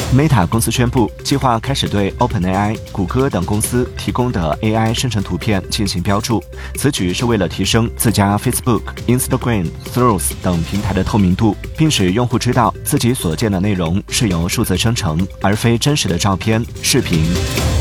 Meta 公司宣布，计划开始对 OpenAI、谷歌等公司提供的 AI 生成图片进行标注。此举是为了提升自家 Facebook、Instagram、Threads 等平台的透明度，并使用户知道自己所见的内容是由数字生成，而非真实的照片、视频。